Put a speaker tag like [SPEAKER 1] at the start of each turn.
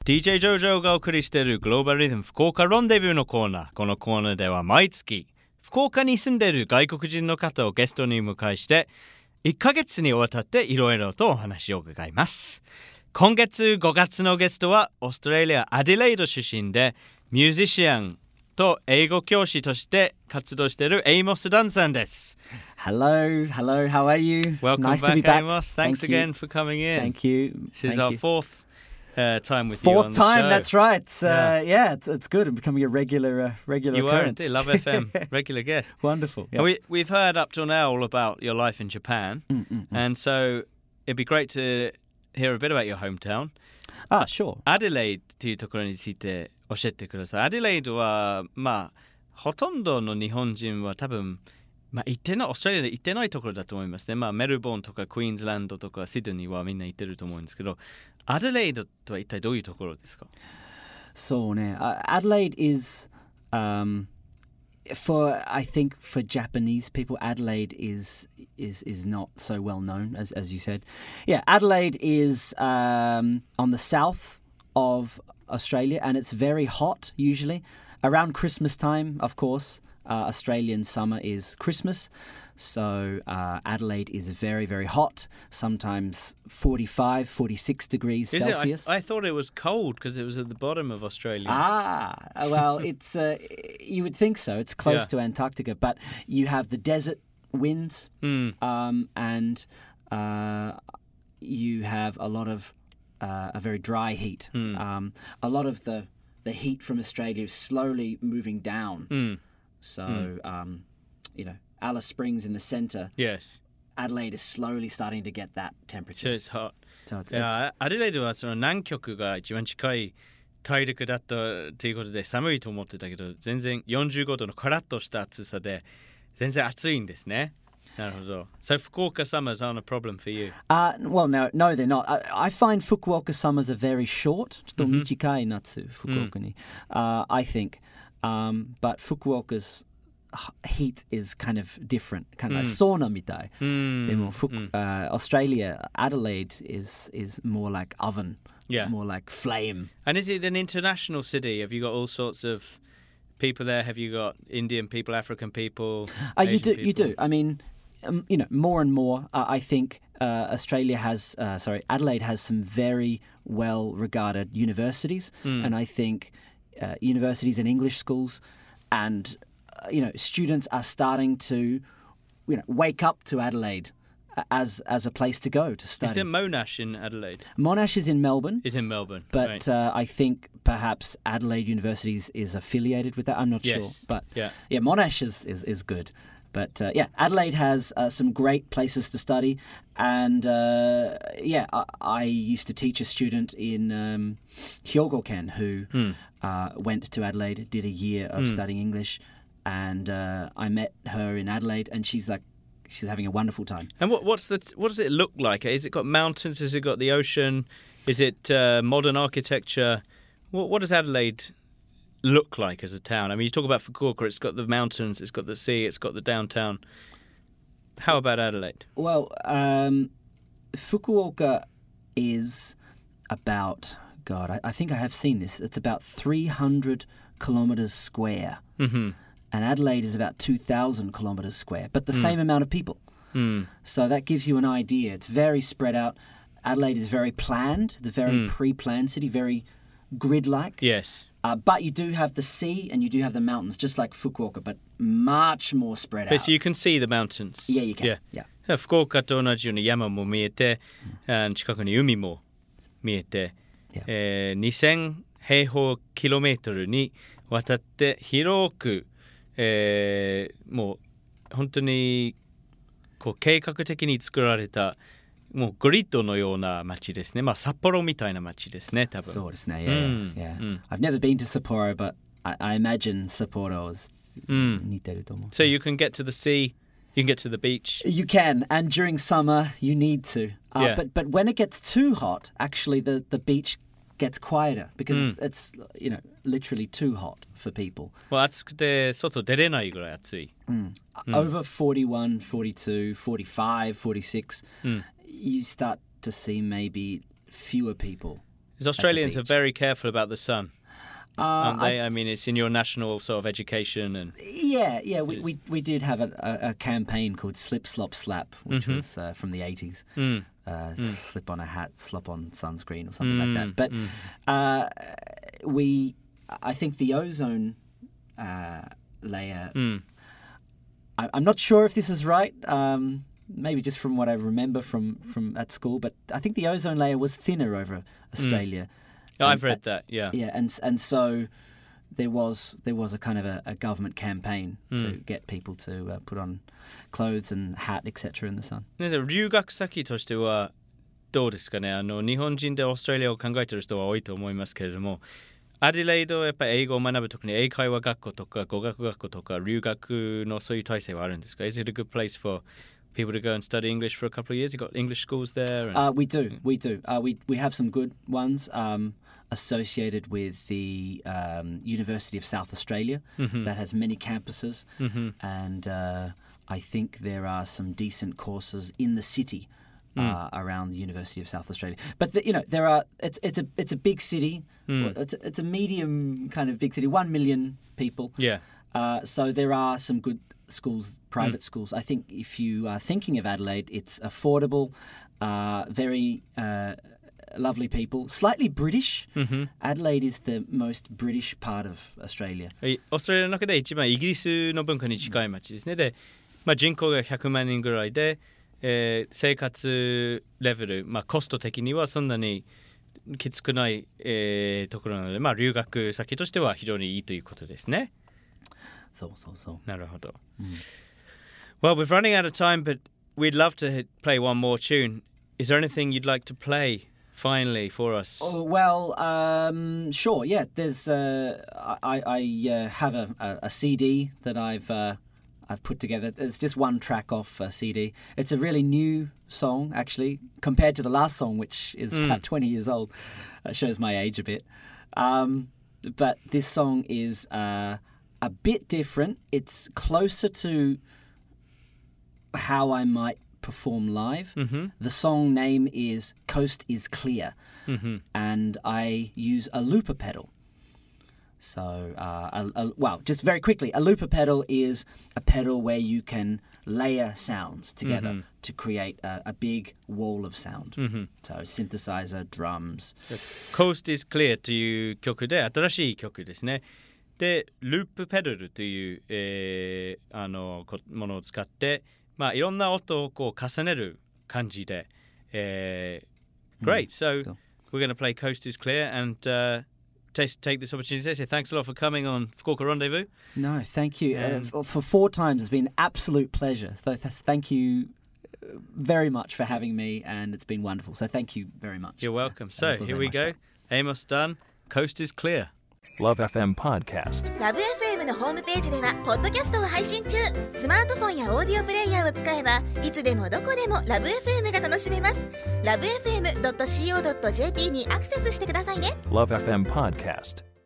[SPEAKER 1] DJ ジョジョがお送りしているグローバルリズム福岡ロンデビューのコーナー。このコーナーでは毎月福岡に住んでいる外国人の方をゲストに迎えして1ヶ月にわたっていろいろとお話を伺います。今月5月のゲストはオーストラリアアディレイド出身でミュージシャンと英語教師として活動しているエイモス・ダンさんです。
[SPEAKER 2] Hello, how are you?
[SPEAKER 1] Welcome
[SPEAKER 2] nice
[SPEAKER 1] back,
[SPEAKER 2] to be back.
[SPEAKER 1] Amos. Thanks again for coming in.
[SPEAKER 2] Thank you.
[SPEAKER 1] This is our fourth time with
[SPEAKER 2] you
[SPEAKER 1] on the show.
[SPEAKER 2] Fourth time, that's right. It's good. I'm becoming a regular
[SPEAKER 1] you
[SPEAKER 2] occurrence.
[SPEAKER 1] You are, Love FM, regular guest.
[SPEAKER 2] Wonderful. Yeah.
[SPEAKER 1] We've heard up till now all about your life in Japan, and so it'd be great to hear a bit about your hometown.
[SPEAKER 2] Sure.
[SPEAKER 1] アデレイというところについて教えてください。アデレイドはほとんどの日本人は多分行ってないオーストラリアで行ってないところだと思いますね。メルボルンとかクイーンズランドとかシドニーはみんな行ってると思うんですけど、アデレイドとは一体どういうところですか？
[SPEAKER 2] そうね。Adelaide is I think for Japanese people, Adelaide is not so well known as you said. Yeah, Adelaide is on the south of Australia, and it's very hot usually around Christmas time. Of course, Australian summer is Christmas, so Adelaide is very, very hot. Sometimes 45, 46 degrees Celsius.
[SPEAKER 1] I thought it was cold because it was at the bottom of Australia.
[SPEAKER 2] Well, it's you would think so. It's close to Antarctica, but you have the desert winds, and you have a lot of a very dry heat. A lot of the heat from Australia is slowly moving down. So, Alice Springs in the centre.
[SPEAKER 1] Yes.
[SPEAKER 2] Adelaide is slowly starting to get that temperature.
[SPEAKER 1] So it's hot.
[SPEAKER 2] So it's
[SPEAKER 1] アデレイドはその南極が一番近い大陸だったということで寒いと思ってたけど、全然45度のカラッとした暑さで全然暑いんですね。なるほど。So Fukuoka summers aren't a problem for you?
[SPEAKER 2] Well, no, they're not. I find Fukuoka summers are very short. ちょっと短い夏、福岡に。I think. But Fukuoka's heat is kind of different, kind of like sauna みたい。でもAustralia, Adelaide is more like oven, more like flame.
[SPEAKER 1] And is it an international city? Have you got all sorts of people there? Have you got Indian people, African people?
[SPEAKER 2] You do. I mean, more and more. I think Adelaide has some very well-regarded universities, and I think universities and English schools, and students are starting to wake up to Adelaide as a place to go to study.
[SPEAKER 1] Is there Monash in Adelaide?
[SPEAKER 2] Monash is in Melbourne.
[SPEAKER 1] Is in Melbourne,
[SPEAKER 2] but
[SPEAKER 1] right.
[SPEAKER 2] I think perhaps Adelaide University is affiliated with that. I'm not sure, but Monash is good. But Adelaide has some great places to study, and I used to teach a student in Hyogo-ken who went to Adelaide, did a year of studying English, and I met her in Adelaide, and she's having a wonderful time.
[SPEAKER 1] And what does it look like? Has it got mountains? Has it got the ocean? Is it modern architecture? What does Adelaide look like as a town? I mean, you talk about Fukuoka, it's got the mountains, it's got the sea, it's got the downtown. How about Adelaide?
[SPEAKER 2] Well, Fukuoka is about, I think I have seen this, it's about 300 kilometres square. And Adelaide is about 2,000 kilometres square, but the same amount of people. So that gives you an idea. It's very spread out. Adelaide is very planned. It's a very pre-planned city, very grid-like.
[SPEAKER 1] Yes.
[SPEAKER 2] But you do have the sea and you do have the mountains, just like Fukuoka, but much more spread out.
[SPEAKER 1] So you can see the mountains?
[SPEAKER 2] Yeah, you can. Yeah.
[SPEAKER 1] 福岡と同じように山も見えて、近くに海も見えて、2000平方キロメートルにわたって広く、もう本当にこう計画的に作られたもうグリッドのような街ですね。札幌みたいな街ですね、多分。
[SPEAKER 2] そうですね。Yeah. I've never been to Sapporo, but I imagine Sapporo is 似てると思う。
[SPEAKER 1] So you can get to the sea, you can get to the beach.
[SPEAKER 2] You can, and during summer you need to. But when it gets too hot, actually the beach gets quieter because it's literally too hot for people.
[SPEAKER 1] 暑くて外出れないぐらい暑い。
[SPEAKER 2] Over 41, 42, 45, 46, you start to see maybe fewer people
[SPEAKER 1] Because Australians are very careful about the sun. Aren't they? I mean, it's in your national sort of education and
[SPEAKER 2] we did have a campaign called Slip Slop Slap, which was from the 80s. Slip on a hat, slop on sunscreen or something like that. But I think the ozone layer. I'm not sure if this is right. Maybe just from what I remember from at school, but I think the ozone layer was thinner over Australia.
[SPEAKER 1] I've read that, yeah.
[SPEAKER 2] Yeah, and so there was a kind of a government campaign to get people to put on clothes and hat, etc. in the sun.
[SPEAKER 1] 留学先としてはどうですかね。日本人でオーストラリアを考えている人は多いと思いますけれども、アディレイドはやっぱり英語を学ぶ特に英会話学校とか語学学校とか留学のそういう体制はあるんですか？ Is it a good place for people to go and study English for a couple of years? You've got English schools there?
[SPEAKER 2] We do. We have some good ones associated with the University of South Australia that has many campuses, and I think there are some decent courses in the city around the University of South Australia. But there are. It's a big city. It's a medium kind of big city. 1 million people.
[SPEAKER 1] Yeah.
[SPEAKER 2] So there are some good schools, private schools. I think if you are thinking of Adelaide, it's affordable, very lovely people, slightly British. Adelaide is the most British part of Australia.
[SPEAKER 1] オーストラリアの中で一番イギリスの文化に近い町ですね。で、人口が100万人ぐらいで、生活レベル、コスト的にはそんなにきつくない、ところなので、留学先としては非常にいいということですね。
[SPEAKER 2] そう。
[SPEAKER 1] なるほど。Well, we're running out of time, but we'd love to play one more tune. Is there anything you'd like to play finally for us?
[SPEAKER 2] Oh, well, sure. Yeah, there's. I have a CD that I've put together. It's just one track off a CD. It's a really new song, actually, compared to the last song, which is about 20 years old. That shows my age a bit. But this song is a bit different. It's closer to how I might perform live. The song name is Coast is Clear, and I use a looper pedal. So, just very quickly, a looper pedal is a pedal where you can layer sounds together to create a big wall of sound. So, synthesizer, drums.
[SPEAKER 1] Coast is Clear という曲で新しい曲ですね。で、ループペダルという、ものを使って、いろんな音をこう重ねる感じで、Great. So, we're going to play Coast is Clear and take this opportunity to say thanks a lot for coming on Fukuoka Rendezvous.
[SPEAKER 2] No, thank you. For 4 times, it's been an absolute pleasure. So thank you very much for having me, and it's been wonderful. So thank you very much.
[SPEAKER 1] You're welcome. So here we go. Amos Dunn, Coast is Clear.
[SPEAKER 3] Love FM Podcast.
[SPEAKER 4] Love FM のホームページではポッドキャストを配信中。スマートフォンやオーディオプレイヤーを使えばいつでもどこでもラブ FM が楽しめます。LoveFM.co.jp にアクセスしてくださいね。
[SPEAKER 3] Love FM Podcast.